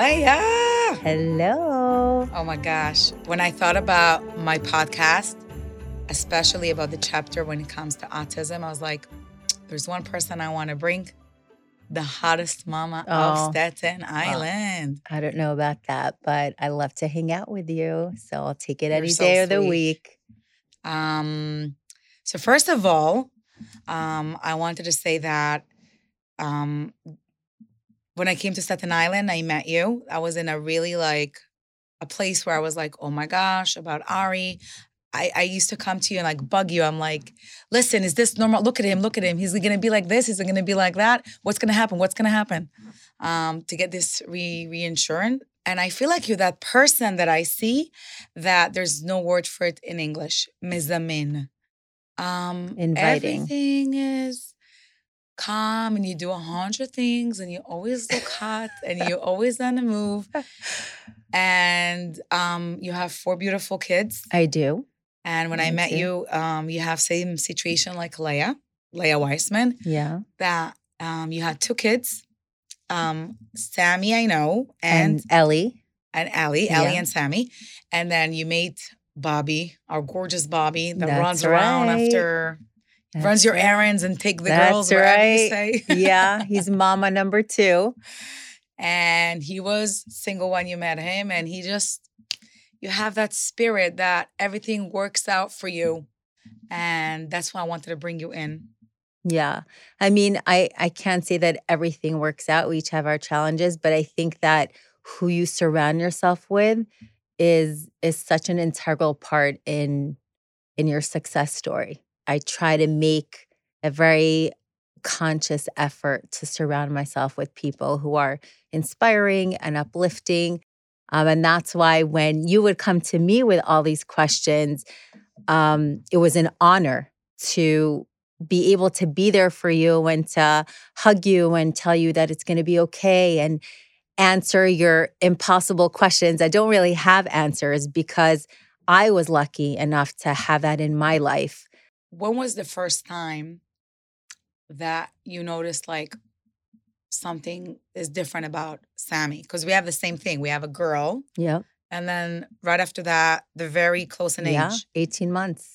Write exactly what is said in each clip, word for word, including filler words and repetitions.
Leah. Hello. Oh my gosh. When I thought about my podcast, especially about the chapter when it comes to autism, I was like, there's one person I want to bring, the hottest mama Oh, of Staten Island. I don't know about that, but I love to hang out with you. So I'll take it You're any so day of the sweet. week. Um, so first of all, um, I wanted to say that um, when I came to Staten Island, I met you. I was in a really like a place where I was like, oh my gosh, about Ari. I, I used to come to you and like bug you. I'm like, listen, is this normal? Look at him, look at him. He's gonna be like this, he's gonna be like that. What's gonna happen? What's gonna happen? Um, to get this re reinsurance. And I feel like you're that person that I see that there's no word for it in English. Mizamin. Um, Inviting. everything is calm and you do a hundred things and you always look hot and you're always on the move. And um, you have four beautiful kids. I do. And when Me I met too. you, um, you have same situation like Leah, Leah Weissman, Yeah. that um, you had two kids. Um, Sammy, I know, and And Ellie. and Allie, Allie Yeah. and Sammy. And then you made Bobby, our gorgeous Bobby, that That's runs around right. after, That's runs your right. errands and take the That's girls wherever you right. say. Yeah, he's mama number two. And he was single when you met him. And he just, you have that spirit that everything works out for you. And that's why I wanted to bring you in. Yeah. I mean, I, I can't say that everything works out. We each have our challenges, but I think that who you surround yourself with is is such an integral part in in your success story. I try to make a very conscious effort to surround myself with people who are inspiring and uplifting. Um, and that's why when you would come to me with all these questions, um, it was an honor to be able to be there for you and to hug you and tell you that it's going to be okay and answer your impossible questions. I don't really have answers because I was lucky enough to have that in my life. When was the first time that you noticed like something is different about Sammy? Because we have the same thing. We have a girl. Yep. And then right after that, they're very close in Yeah, age. eighteen months.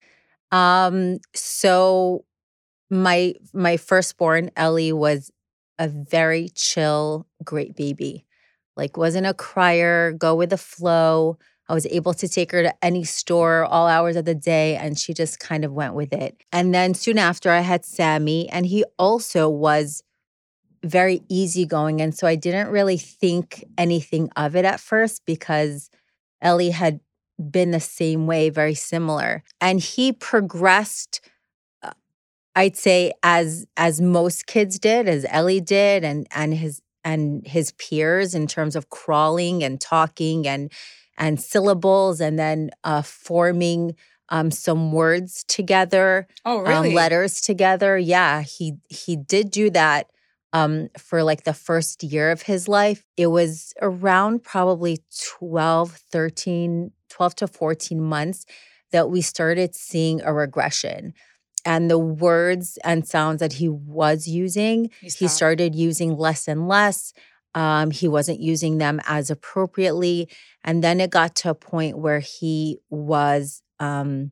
Um, so my my firstborn, Ellie, was a very chill, great baby. Like wasn't a crier, go with the flow. I was able to take her to any store all hours of the day and she just kind of went with it. And then soon after I had Sammy and he also was very easygoing. And so I didn't really think anything of it at first because Ellie had been the same way, very similar. And he progressed, uh, I'd say, as as most kids did, as Ellie did, and and his and his peers in terms of crawling and talking and and syllables, and then uh, forming um, some words together, Oh, um, really? letters together. Yeah, he he did do that um, for like the first year of his life. It was around probably twelve, thirteen, twelve to fourteen months that we started seeing a regression. And the words and sounds that he was using, He he stopped. started using less and less. Um, he wasn't using them as appropriately. And then it got to a point where he was um,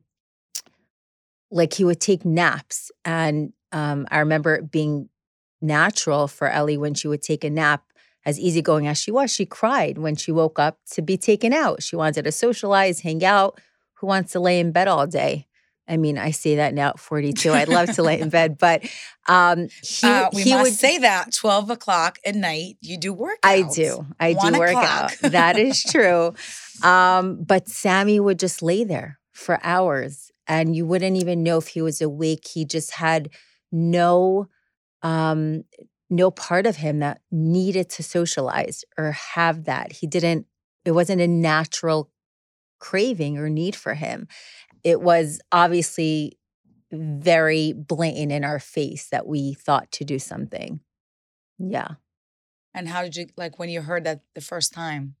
like he would take naps. And um, I remember it being natural for Ellie when she would take a nap, as easygoing as she was, she cried when she woke up to be taken out. She wanted to socialize, hang out. Who wants to lay in bed all day? I mean, I say that now at forty-two. I'd love to lay in bed, but um, he, Uh, we he must would say that twelve o'clock at night, you do workouts. I do. I One do work o'clock. out. That is true. Um, but Sammy would just lay there for hours and you wouldn't even know if he was awake. He just had no um, no part of him that needed to socialize or have that. He didn't, it wasn't a natural craving or need for him. It was obviously very blatant in our face that we thought to do something. Yeah. And how did you, like when you heard that the first time?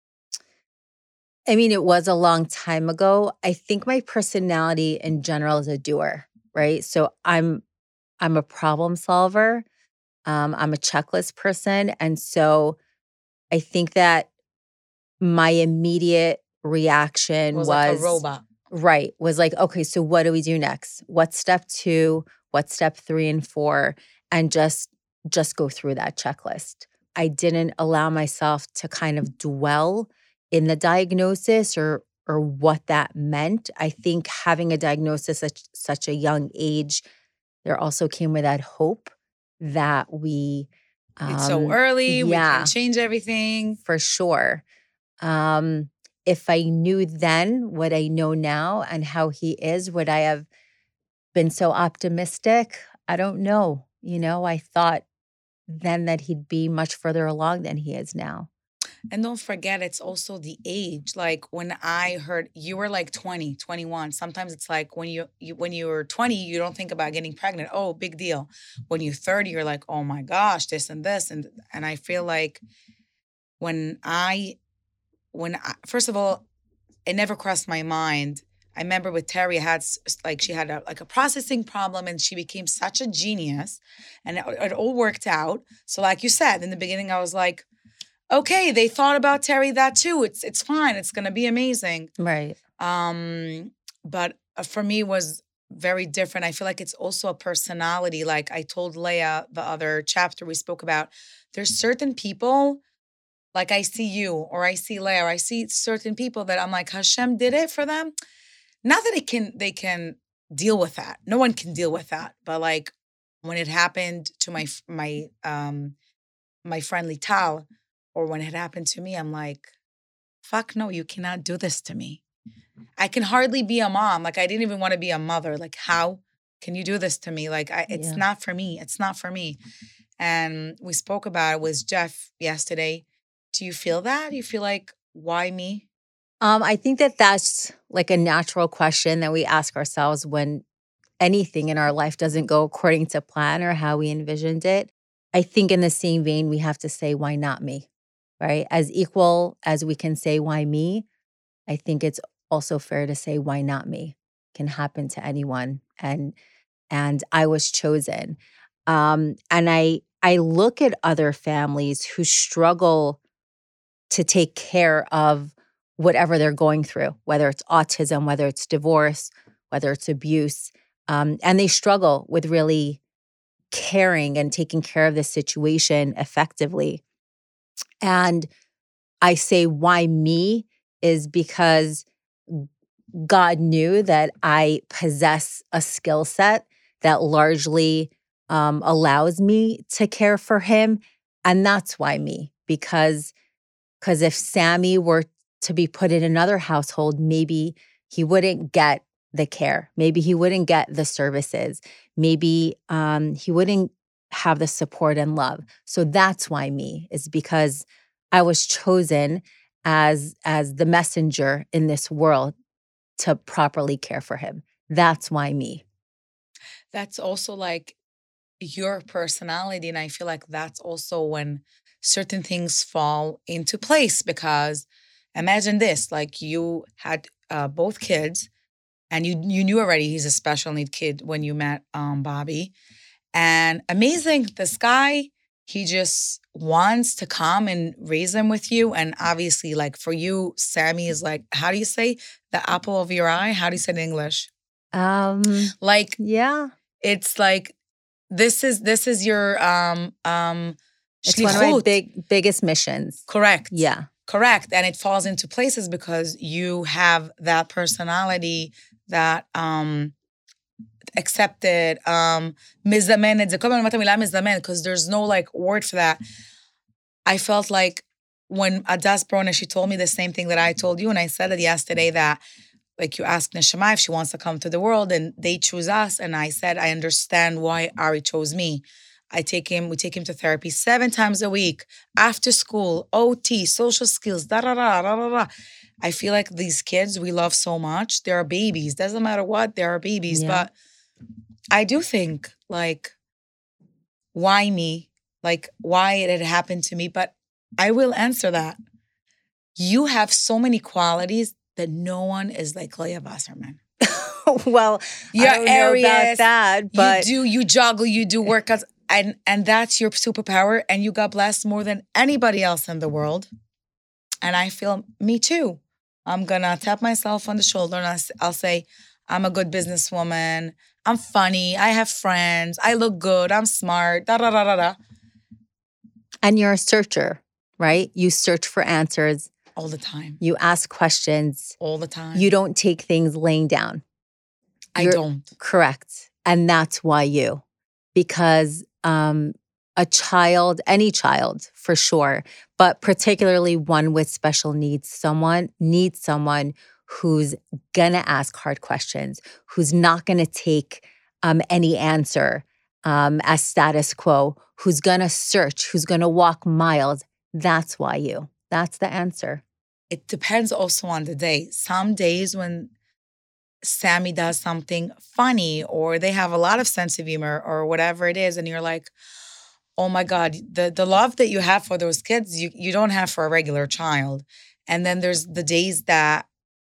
I mean, it was a long time ago. I think my personality in general is a doer, right? So I'm I'm a problem solver. Um, I'm a checklist person. And so I think that my immediate reaction It was, was, like a robot. right, was like, okay, so what do we do next? What's step two? What's step three and four? And just just go through that checklist. I didn't allow myself to kind of dwell in the diagnosis or or what that meant. I think having a diagnosis at such a young age, there also came with that hope that we It's so um early, we can yeah, change everything. for sure. Um, if I knew then what I know now and how he is, would I have been so optimistic? I don't know. You know, I thought then that he'd be much further along than he is now. And don't forget, it's also the age. Like when I heard you were like twenty, twenty-one. Sometimes it's like when you, you when you were twenty, you don't think about getting pregnant. Oh, big deal. When you're thirty, you're like, oh my gosh, this and this. And and I feel like when I when I, first of all, it never crossed my mind. I remember with Terry, I had s- s- like she had a, like a processing problem, and she became such a genius, and it, it all worked out. So, like you said in the beginning, I was like, okay, they thought about Terry that too. It's it's fine. It's gonna be amazing. Right. Um, but uh, for me, it was very different. I feel like it's also a personality. Like I told Leah the other chapter we spoke about. There's certain people like I see you or I see Leah or I see certain people that I'm like, Hashem did it for them. Not that it can they can deal with that. No one can deal with that. But like when it happened to my f- my um my friend Lital, or when it happened to me, I'm like, fuck no, you cannot do this to me. I can hardly be a mom. Like I didn't even want to be a mother. Like how can you do this to me? Like I, it's Yeah. not for me. It's not for me. And we spoke about it with Jeff yesterday. Do you feel that? You feel like, why me? Um, I think that that's like a natural question that we ask ourselves when anything in our life doesn't go according to plan or how we envisioned it. I think in the same vein, we have to say, why not me? Right? As equal as we can say, why me? I think it's also fair to say, why not me? Can happen to anyone. And and I was chosen. Um, and I I look at other families who struggle to take care of whatever they're going through, whether it's autism, whether it's divorce, whether it's abuse. Um, and they struggle with really caring and taking care of the situation effectively. And I say, why me? Is because God knew that I possess a skill set that largely um, allows me to care for him. And that's why me, because because if Sammy were to be put in another household, maybe he wouldn't get the care. Maybe he wouldn't get the services. Maybe um, he wouldn't have the support and love. So that's why me, is because I was chosen as as the messenger in this world to properly care for him. That's why me. That's also like your personality. And I feel like that's also when certain things fall into place because imagine this, like you had uh, both kids and you you knew already he's a special need kid when you met um, Bobby. And amazing, this guy, he just wants to come and raise them with you. And obviously, like for you, Sammy is like, how do you say the apple of your eye? How do you say it in English? Um, Like yeah, it's like this is this is your um um it's one of my shlichut. big biggest missions. Correct. Yeah. Correct. And it falls into places because you have that personality that um accepted, um, מזמנת, זה כל הזמן אומרת המילה מזמן, because there's no like word for that. I felt like when Adas Brona, she told me the same thing that I told you, and I said it yesterday that like you asked Neshama if she wants to come to the world and they choose us, and I said, I understand why Ari chose me. I take him, we take him to therapy seven times a week, after school, O T, social skills, da da da da da da. I feel like these kids we love so much. They are babies. Doesn't matter what, they are babies. Yeah. But I do think, like, why me? Like, why it had happened to me? But I will answer that. You have so many qualities that no one is like Leah Wasserman. Well, You're I don't know about Aries, that, but you do, you juggle, you do workouts. and and that's your superpower, and you got blessed more than anybody else in the world. And I feel, me too. I'm gonna tap myself on the shoulder and I'll, s- I'll say, I'm a good businesswoman. I'm funny. I have friends. I look good. I'm smart. Da da da da da. And you're a searcher, right? You search for answers. All the time. You ask questions. All the time. You don't take things laying down. I You're don't. correct. And that's why you. Because um, a child, any child for sure, but particularly one with special needs, someone needs someone who's gonna ask hard questions, who's not gonna take um, any answer um, as status quo, who's gonna search, who's gonna walk miles. That's why you. That's the answer. It depends also on the day. Some days when Sammy does something funny or they have a lot of sense of humor or whatever it is, and you're like, oh my God, the, the love that you have for those kids, you, you don't have for a regular child. And then there's the days that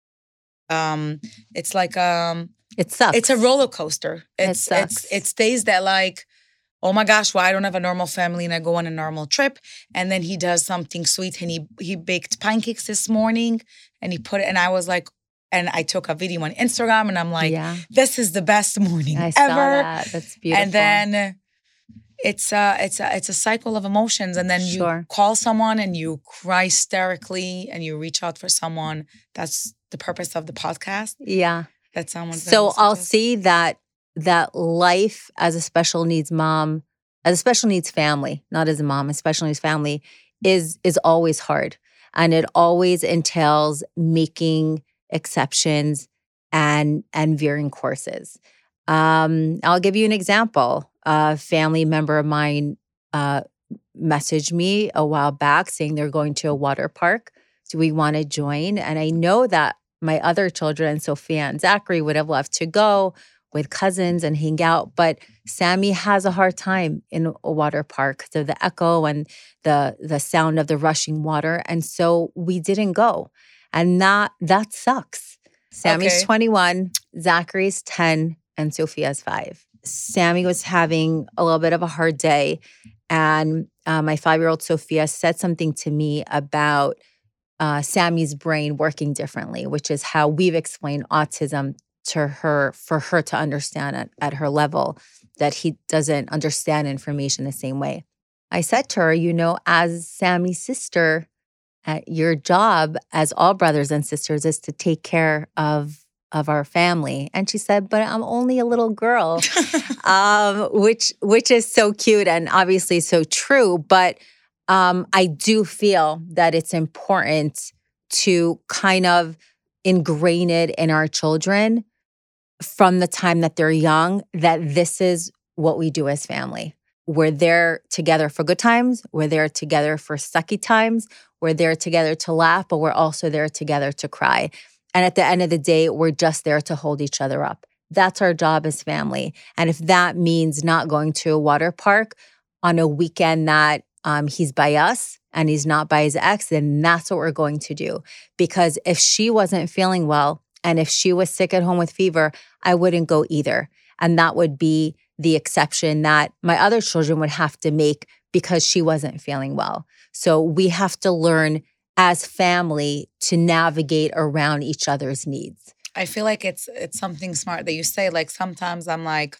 um it's like um It sucks. it's a roller coaster. It's It it's sucks. it's days that like, oh my gosh, well, I don't have a normal family and I go on a normal trip. And then he does something sweet and he he baked pancakes this morning and he put it, and I was like, and I took a video on Instagram and I'm like, yeah, this is the best morning I ever. saw that. That's beautiful. And then it's a it's a it's a cycle of emotions. And then Sure. you call someone and you cry hysterically and you reach out for someone. That's the purpose of the podcast. yeah. That someone's gonna So listen I'll to. see that that life as a special needs mom, as a special needs family, not as a mom, a special needs family is is always hard. And it always entails making exceptions and and veering courses. Um, I'll give you an example. A family member of mine uh, messaged me a while back saying they're going to a water park. Do we want to join? And I know that my other children, Sophia and Zachary, would have loved to go with cousins and hang out. But Sammy has a hard time in a water park. So the echo and the the sound of the rushing water. And so we didn't go. And that that sucks. Sammy's Okay. twenty-one, Zachary's ten, and Sophia's five. Sammy was having a little bit of a hard day. And uh, my five-year-old Sophia said something to me about uh, Sammy's brain working differently, which is how we've explained autism to her for her to understand at, at her level, that he doesn't understand information the same way. I said to her, you know, as Sammy's sister, uh, your job as all brothers and sisters is to take care of of our family. And she said, but I'm only a little girl, um, which which is so cute and obviously so true. But um, I do feel that it's important to kind of ingrain it in our children from the time that they're young, that this is what we do as family. We're there together for good times. We're there together for sucky times. We're there together to laugh, but we're also there together to cry. And at the end of the day, we're just there to hold each other up. That's our job as family. And if that means not going to a water park on a weekend that um, he's by us and he's not by his ex, then that's what we're going to do. Because if she wasn't feeling well and if she was sick at home with fever, I wouldn't go either. And that would be the exception that my other children would have to make because she wasn't feeling well. So we have to learn as family to navigate around each other's needs. I feel like it's it's something smart that you say. Like sometimes I'm like,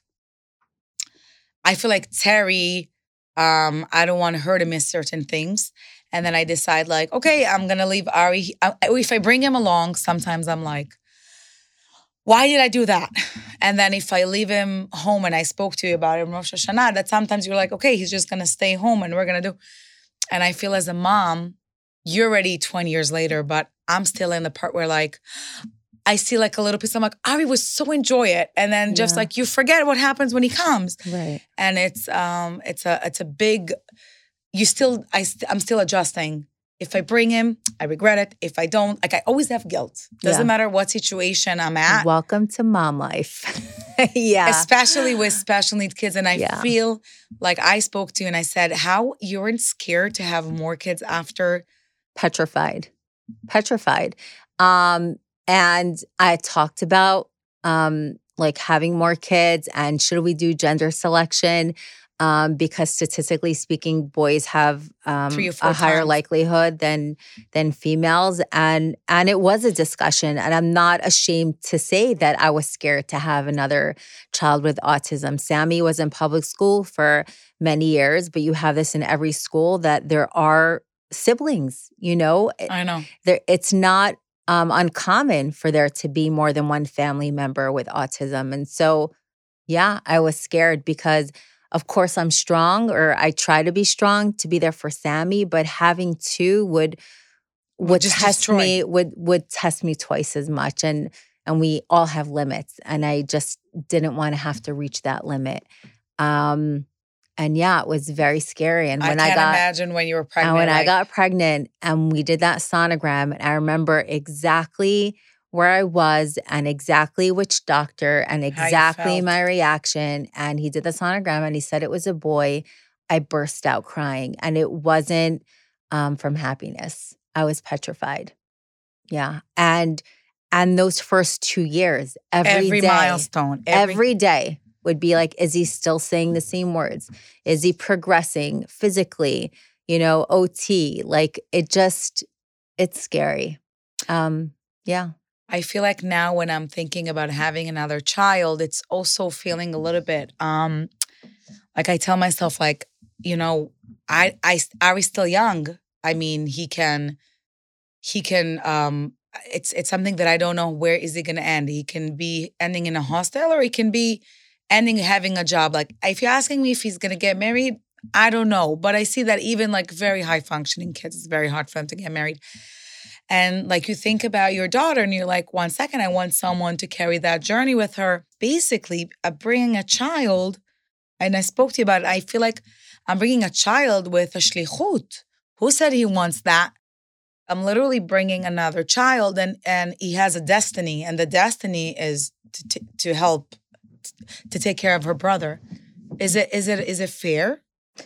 I feel like Terry, um, I don't want her to miss certain things. And then I decide like, okay, I'm going to leave Ari. I, if I bring him along, sometimes I'm like, why did I do that? And then if I leave him home and I spoke to you about it in Rosh Hashanah, that sometimes you're like, okay, he's just going to stay home and we're going to do. And I feel as a mom, you're already twenty years later, but I'm still in the part where like, I see like a little piece. I'm like, Ari would so enjoy it. And then just Yeah. like, you forget what happens when he comes. Right. And it's um, it's a it's a big, you still, I st- I'm still adjusting. If I bring him, I regret it. If I don't, like I always have guilt. Doesn't Yeah. matter what situation I'm at. Welcome to mom life. yeah. Especially with special needs kids. And I Yeah. feel like I spoke to you and I said, how you're scared to have more kids after. Petrified. Petrified. Um, and I talked about um, like having more kids and should we do gender selection? um, because statistically speaking, boys have Three um, or four a higher times. likelihood than than females, and and it was a discussion. And I'm not ashamed to say that I was scared to have another child with autism. Sammy was in public school for many years, but you have this in every school that there are siblings. You know, It- I know. there it's not um, uncommon for there to be more than one family member with autism, and so yeah, I was scared because, of course, I'm strong, or I try to be strong to be there for Sammy, but having two would Would would just test destroy. me would would test me twice as much, and and we all have limits, and I just didn't want to have to reach that limit. Um, and yeah, it was very scary. And I when I can't got imagine when you were and pregnant. when I Like, got pregnant and we did that sonogram, and I remember exactly where I was and exactly which doctor and how you exactly felt. my reaction. And he did the sonogram and he said it was a boy. I burst out crying, and it wasn't um, from happiness. I was petrified. Yeah. And and those first two years, every Every day, milestone. Every, every day would be like, is he still saying the same words? Is he progressing physically? You know, O T. Like it just, it's scary. Um, yeah. I feel like now when I'm thinking about having another child, it's also feeling a little bit um like I tell myself, like, you know, I I Ari's still young. I mean, he can he can um it's it's something that I don't know where is he gonna end. He can be ending in a hostel, or he can be ending having a job. Like, if you're asking me if he's gonna get married, I don't know. But I see that even like very high functioning kids, it's very hard for them to get married. And like, you think about your daughter and you're like, one second, I want someone to carry that journey with her. Basically, uh, bringing a child, and I spoke to you about it, I feel like I'm bringing a child with a shlichut. Who said he wants that? I'm literally bringing another child, and and he has a destiny, and the destiny is to to, to help to take care of her brother. Is it is it is it fair?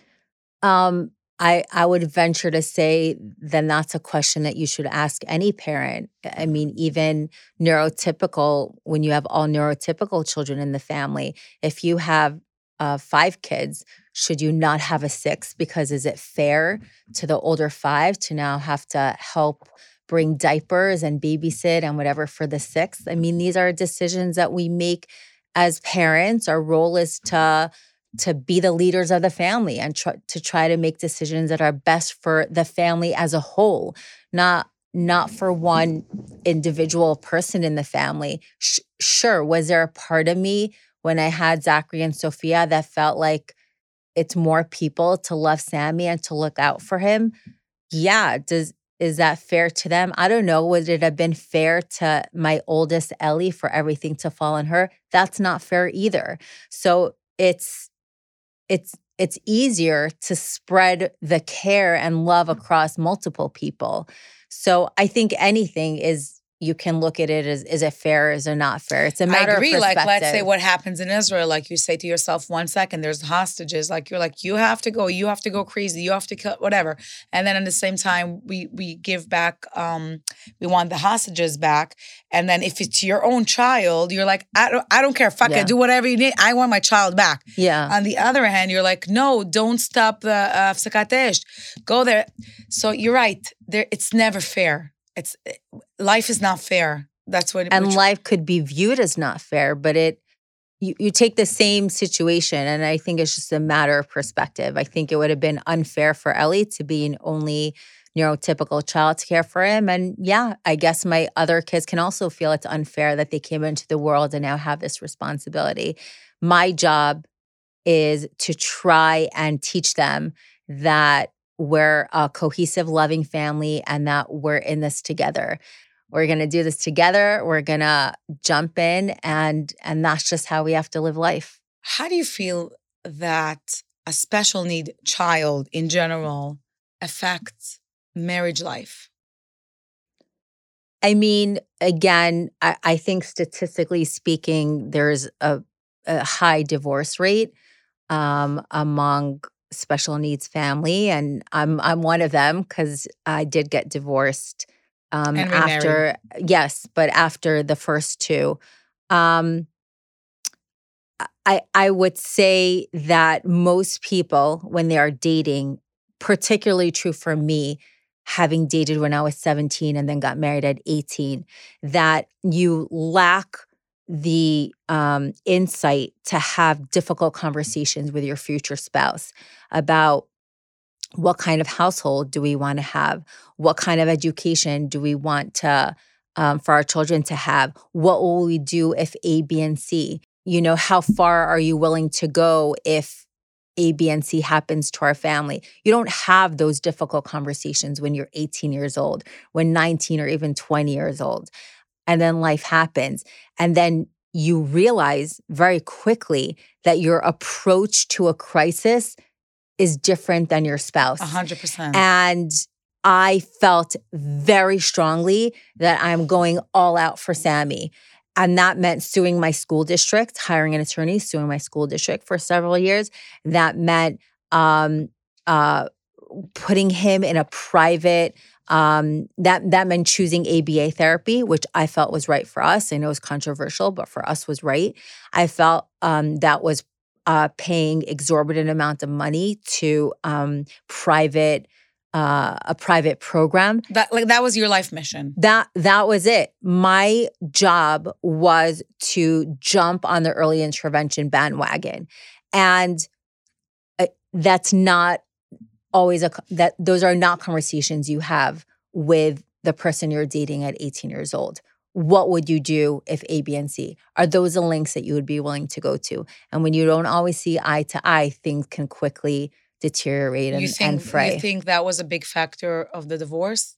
Um, I I would venture to say then that's a question that you should ask any parent. I mean, even neurotypical, when you have all neurotypical children in the family, if you have uh, five kids, should you not have a sixth? Because is it fair to the older five to now have to help bring diapers and babysit and whatever for the sixth? I mean, these are decisions that we make as parents. Our role is to to be the leaders of the family and try, to try to make decisions that are best for the family as a whole, not not for one individual person in the family. Sh- sure, was there a part of me when I had Zachary and Sophia that felt like it's more people to love Sammy and to look out for him? Yeah, does is that fair to them? I don't know. Would it have been fair to my oldest Ellie for everything to fall on her? That's not fair either. So it's it's it's easier to spread the care and love across multiple people. So I think anything is, you can look at it as, is it fair, is it not fair? It's a I matter agree. of Like, perspective. let's say what happens in Israel. Like, you say to yourself, one second, there's hostages. Like, you're like, you have to go, you have to go crazy, you have to kill, whatever. And then at the same time, we we give back, um, we want the hostages back. And then if it's your own child, you're like, I don't, I don't care, fuck Yeah. it, do whatever you need. I want my child back. Yeah. On the other hand, you're like, no, don't stop the uh, Hafsakat Esh. Go there. So you're right. There, it's never fair. It's life is not fair. That's what. And which- life could be viewed as not fair, but it you, you take the same situation, and I think it's just a matter of perspective. I think it would have been unfair for Ellie to be an only neurotypical child to care for him. And yeah, I guess my other kids can also feel it's unfair that they came into the world and now have this responsibility. My job is to try and teach them that we're a cohesive, loving family and that we're in this together. We're going to do this together. We're going to jump in, and and that's just how we have to live life. How do you feel that a special need child in general affects marriage life? I mean, again, I, I think statistically speaking, there's a, a high divorce rate um, among special needs family, and I'm I'm one of them because I did get divorced um, And remarried. after yes, but after the first two. Um, I, I would say that most people, when they are dating, particularly true for me, having dated when I was seventeen and then got married at eighteen, that you lack the um, insight to have difficult conversations with your future spouse about what kind of household do we want to have? What kind of education do we want to um, for our children to have? What will we do if A, B, and C? You know, how far are you willing to go if A, B, and C happens to our family? You don't have those difficult conversations when you're eighteen years old, when nineteen or even twenty years old. And then life happens. And then you realize very quickly that your approach to a crisis is different than your spouse. A hundred percent. And I felt very strongly that I'm going all out for Sammy. And that meant suing my school district, hiring an attorney, suing my school district for several years. That meant um, uh, putting him in a private, um, that, that meant choosing A B A therapy, which I felt was right for us. I know it's controversial, but for us was right. I felt um, that was uh, paying exorbitant amount of money to um, private Uh, a private program. That like that was your life mission. That that was it. My job was to jump on the early intervention bandwagon, and uh, that's not always a that those are not conversations you have with the person you're dating at eighteen years old. What would you do if A, B, and C? Are those the links that you would be willing to go to? And when you don't always see eye to eye, things can quickly deteriorate and, you think, and fray. You think that was a big factor of the divorce?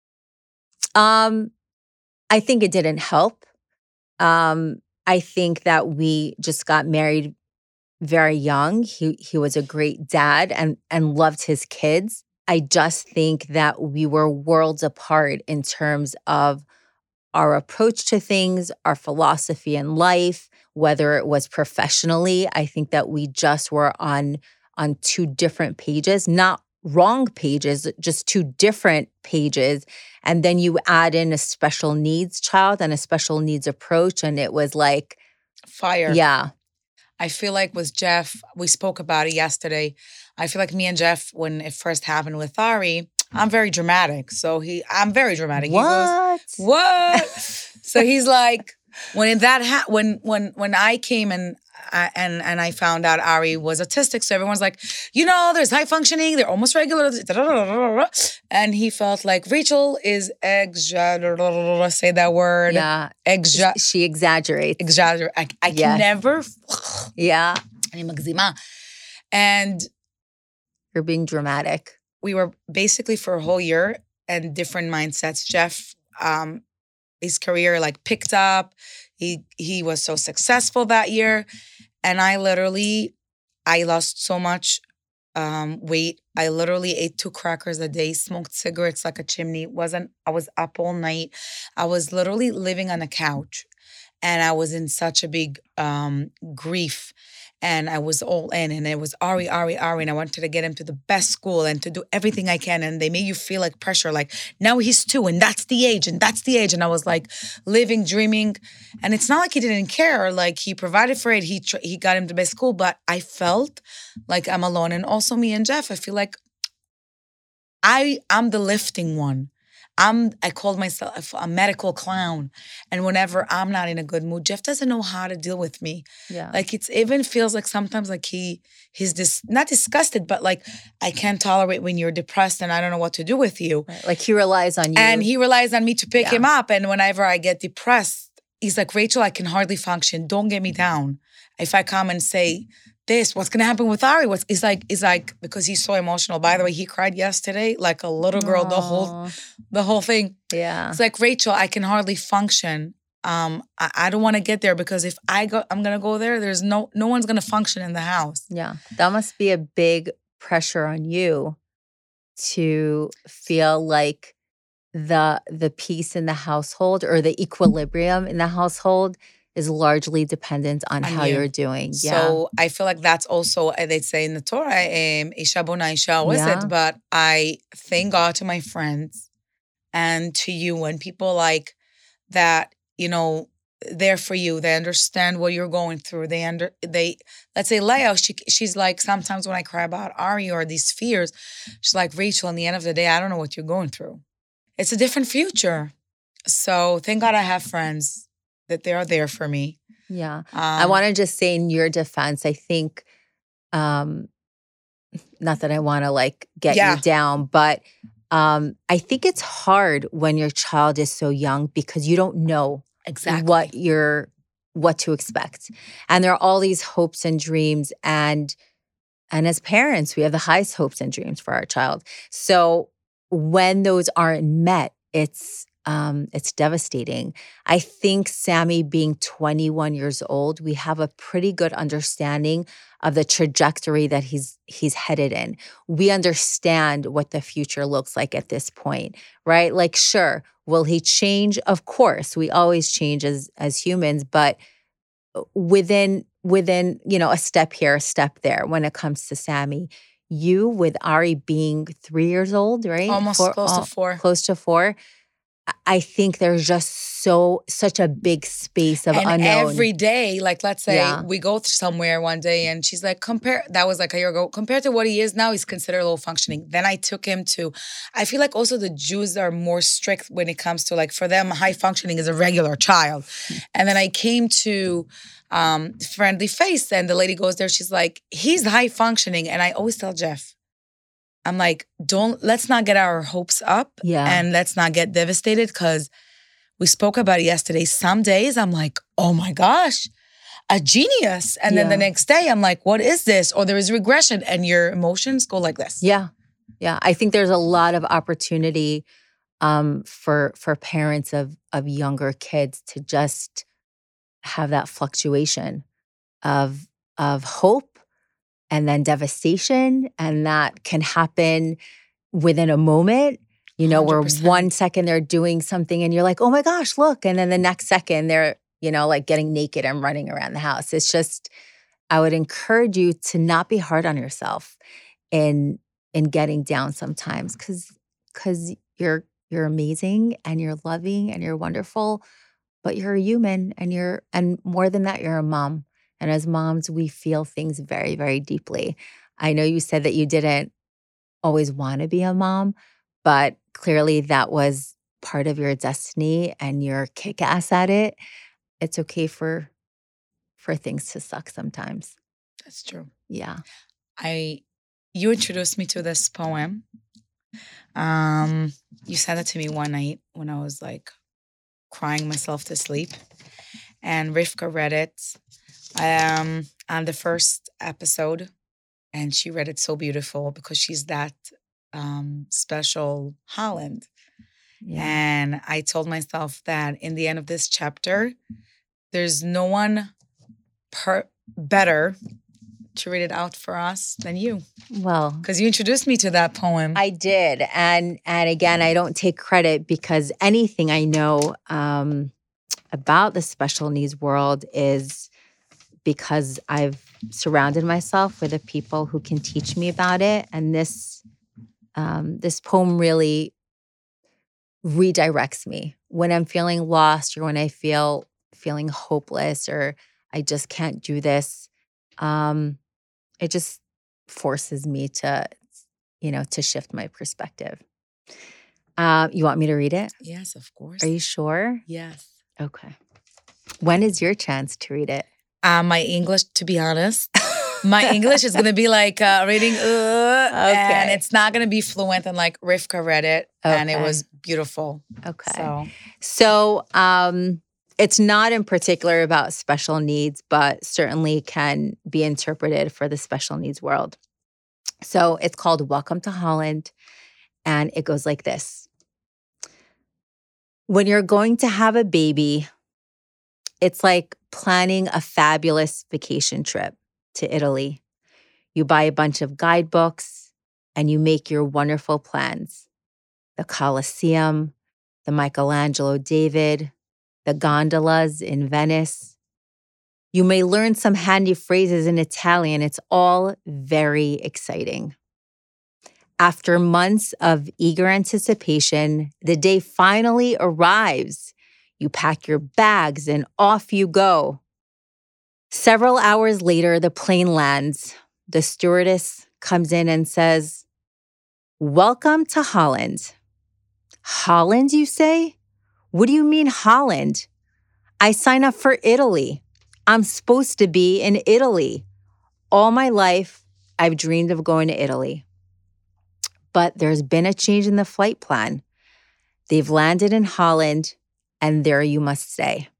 Um, I think it didn't help. Um, I think that we just got married very young. He he was a great dad and and loved his kids. I just think that we were worlds apart in terms of our approach to things, our philosophy in life, whether it was professionally. I think that we just were on on two different pages, not wrong pages, just two different pages. And then you add in a special needs child and a special needs approach. And it was like fire. Yeah. I feel like with Jeff, we spoke about it yesterday. I feel like me and Jeff, when it first happened with Ari, I'm very dramatic. So he, I'm very dramatic. What? He goes, what? So he's like, when that ha- when when when I came and I, and and I found out Ari was autistic, so everyone's like, you know, there's high functioning, they're almost regular, and he felt like Rachel is exagger. Say that word. Yeah. Exa- she exaggerates. Exaggerate. I, I Yeah. can never. Yeah. אני מגזימה. And You're being dramatic. we were basically for a whole year and different mindsets. Jeff, um, his career like picked up. He he was so successful that year. And I literally, I lost so much um, weight. I literally ate two crackers a day, smoked cigarettes like a chimney. Wasn't I was up all night. I was literally living on the couch. And I was in such a big um, grief. And I was all in, and it was Ari, Ari, Ari, and I wanted to get him to the best school and to do everything I can. And they made you feel like pressure, like now he's two, and that's the age, and that's the age. And I was like living, dreaming, and it's not like he didn't care. Like he provided for it, he tr- he got him to best school, but I felt like I'm alone. And also me and Jeff, I feel like I I'm the lifting one. I'm, I called myself a medical clown. And whenever I'm not in a good mood, Jeff doesn't know how to deal with me. Yeah. Like it's even feels like sometimes like he, he's dis, not disgusted, but like I can't tolerate when you're depressed and I don't know what to do with you. Right. Like he relies on you. And he relies on me to pick Yeah. him up. And whenever I get depressed, he's like, Rachel, I can hardly function. Don't get me down. If I come and say, this, what's gonna happen with Ari? What's it's like, it's like because he's so emotional. By the way, he cried yesterday like a little girl, the whole the whole thing. Yeah. It's like, Rachel, I can hardly function. Um, I, I don't wanna get there because if I go I'm gonna go there, there's no no one's gonna function in the house. Yeah. That must be a big pressure on you to feel like the the peace in the household or the equilibrium in the household is largely dependent on, On how you. you're doing. Yeah. So I feel like that's also, uh, they say in the Torah, um, Isha bona Isha Yeah. oset, but I thank God to my friends and to you and people like that, you know, there for you. They understand what you're going through. They under they let's say Leia, she she's like, sometimes when I cry about Ari or these fears, she's like, Rachel, in the end of the day, I don't know what you're going through. It's a different future. So thank God I have friends that they are there for me. Yeah. Um, I want to just say in your defense, I think, um, not that I want to like get Yeah. you down, but um, I think it's hard when your child is so young because you don't know exactly what you're, what to expect. And there are all these hopes and dreams. And, and as parents, we have the highest hopes and dreams for our child. So when those aren't met, it's, Um, it's devastating. I think Sammy being twenty-one years old, we have a pretty good understanding of the trajectory that he's he's headed in. We understand what the future looks like at this point, right? Like, sure, will he change? Of course, we always change as as humans, but within within you know a step here, a step there. When it comes to Sammy, you with Ari being three years old, right? almost Four, close to uh, four. close to four. I think there's just so such a big space of And unknown. every day, like let's say Yeah. we go somewhere one day and she's like, compare, that was like a year ago, compared to what he is now, he's considered low functioning. Then I took him to, I feel like also the Jews are more strict when it comes to like, for them, high functioning is a regular child. And then I came to um, Friendly Face and the lady goes there, she's like, he's high functioning. And I always tell Jeff, I'm like, don't, let's not get our hopes up Yeah. and let's not get devastated because we spoke about it yesterday. Some days I'm like, oh my gosh, a genius. And then Yeah. the next day I'm like, what is this? Or there is regression and your emotions go like this. Yeah. Yeah. I think there's a lot of opportunity um, for for parents of of younger kids to just have that fluctuation of of hope and then devastation. And that can happen within a moment. You know, where one hundred percent. one second they're doing something and you're like, oh my gosh, look. And then the next second they're, you know, like getting naked and running around the house. It's just, I would encourage you to not be hard on yourself in in getting down sometimes because because you're you're amazing and you're loving and you're wonderful, but you're a human and you're and more than that, you're a mom. And as moms, we feel things very, very deeply. I know you said that you didn't always want to be a mom, but clearly that was part of your destiny and you're kick-ass at it. It's okay for for things to suck sometimes. That's true. Yeah. I, you introduced me to this poem. Um, you sent it to me one night when I was like crying myself to sleep. And Rivka read it um, on the first episode. And she read it so beautiful because she's that um, special Holland. Yeah. And I told myself that in the end of this chapter, there's no one per- better to read it out for us than you. Well, Because you introduced me to that poem. I did. And and again, I don't take credit because anything I know um, about the special needs world is because I've surrounded myself with the people who can teach me about it. And this um, this poem really redirects me when I'm feeling lost or when I feel feeling hopeless or I just can't do this. Um, it just forces me to, you know, to shift my perspective. Uh, you want me to read it? Yes, of course. Are you sure? Yes. Okay. When is your chance to read it? Uh, my English, to be honest, my English is going to be like uh, reading, uh, and it's not going to be fluent. And like Rivka read it, and it Okay. was beautiful. Okay. So So um, it's not in particular about special needs, but certainly can be interpreted for the special needs world. So it's called Welcome to Holland, and it goes like this. When you're going to have a baby, it's like planning a fabulous vacation trip to Italy. You buy a bunch of guidebooks and you make your wonderful plans. The Colosseum, the Michelangelo David, the gondolas in Venice. You may learn some handy phrases in Italian. It's all very exciting. After months of eager anticipation, the day finally arrives. You pack your bags and off you go. Several hours later, the plane lands. The stewardess comes in and says, "Welcome to Holland." "Holland, you say? What do you mean Holland? I sign up for Italy. I'm supposed to be in Italy. All my life, I've dreamed of going to Italy. But there's been a change in the flight plan. They've landed in Holland, and there you must stay."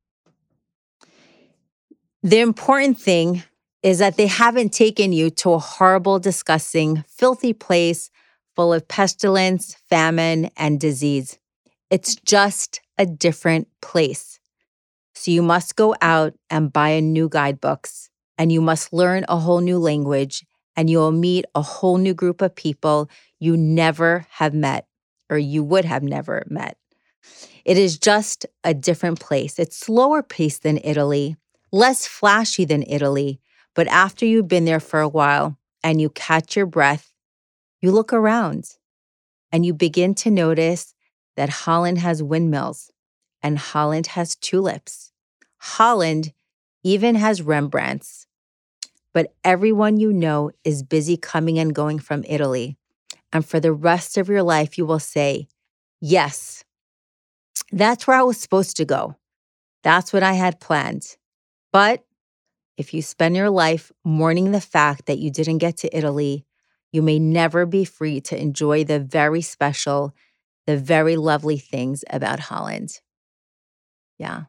The important thing is that they haven't taken you to a horrible, disgusting, filthy place full of pestilence, famine, and disease. It's just a different place. So you must go out and buy a new guidebooks, and you must learn a whole new language, and you will meet a whole new group of people you never have met, or you would have never met. It is just a different place. It's slower paced than Italy, less flashy than Italy, but after you've been there for a while and you catch your breath, you look around and you begin to notice that Holland has windmills and Holland has tulips. Holland even has Rembrandts. But everyone you know is busy coming and going from Italy. And for the rest of your life, you will say, "Yes, that's where I was supposed to go. That's what I had planned." But if you spend your life mourning the fact that you didn't get to Italy, you may never be free to enjoy the very special, the very lovely things about Holland. Yeah.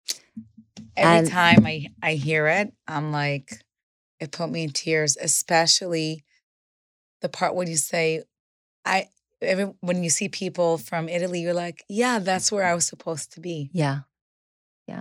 Every And- time I, I hear it, I'm like, it put me in tears, especially the part when you say, I every, when you see people from Italy, you're like, yeah, that's where I was supposed to be. Yeah. Yeah.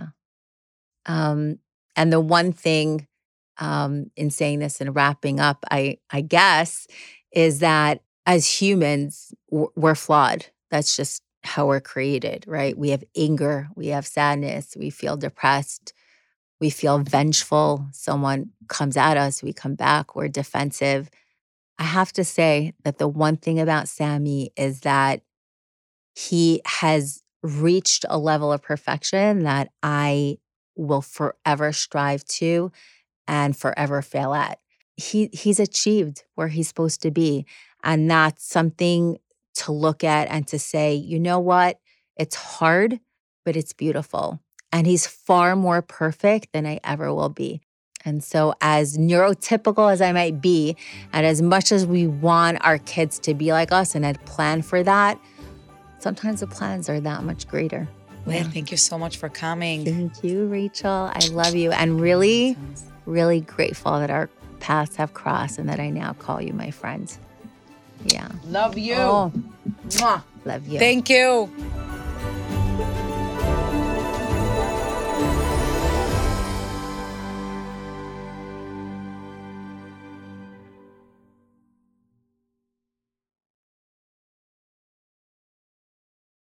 Um, and the one thing um, in saying this and wrapping up, I, I guess, is that as humans, w- we're flawed. That's just how we're created, right? We have anger, we have sadness, we feel depressed, we feel vengeful. Someone comes at us, we come back, we're defensive. I have to say that the one thing about Sammy is that he has reached a level of perfection that I will forever strive to and forever fail at. He he's achieved where he's supposed to be. And that's something to look at and to say, you know what? It's hard, but it's beautiful. And he's far more perfect than I ever will be. And so as neurotypical as I might be, and as much as we want our kids to be like us and had planned for that, sometimes the plans are that much greater. Lynn, yeah. Thank you so much for coming. Thank you, Rachel. I love you. And really, really grateful that our paths have crossed and that I now call you my friend. Yeah. Love you. Oh, Mwah. Love you. Thank you.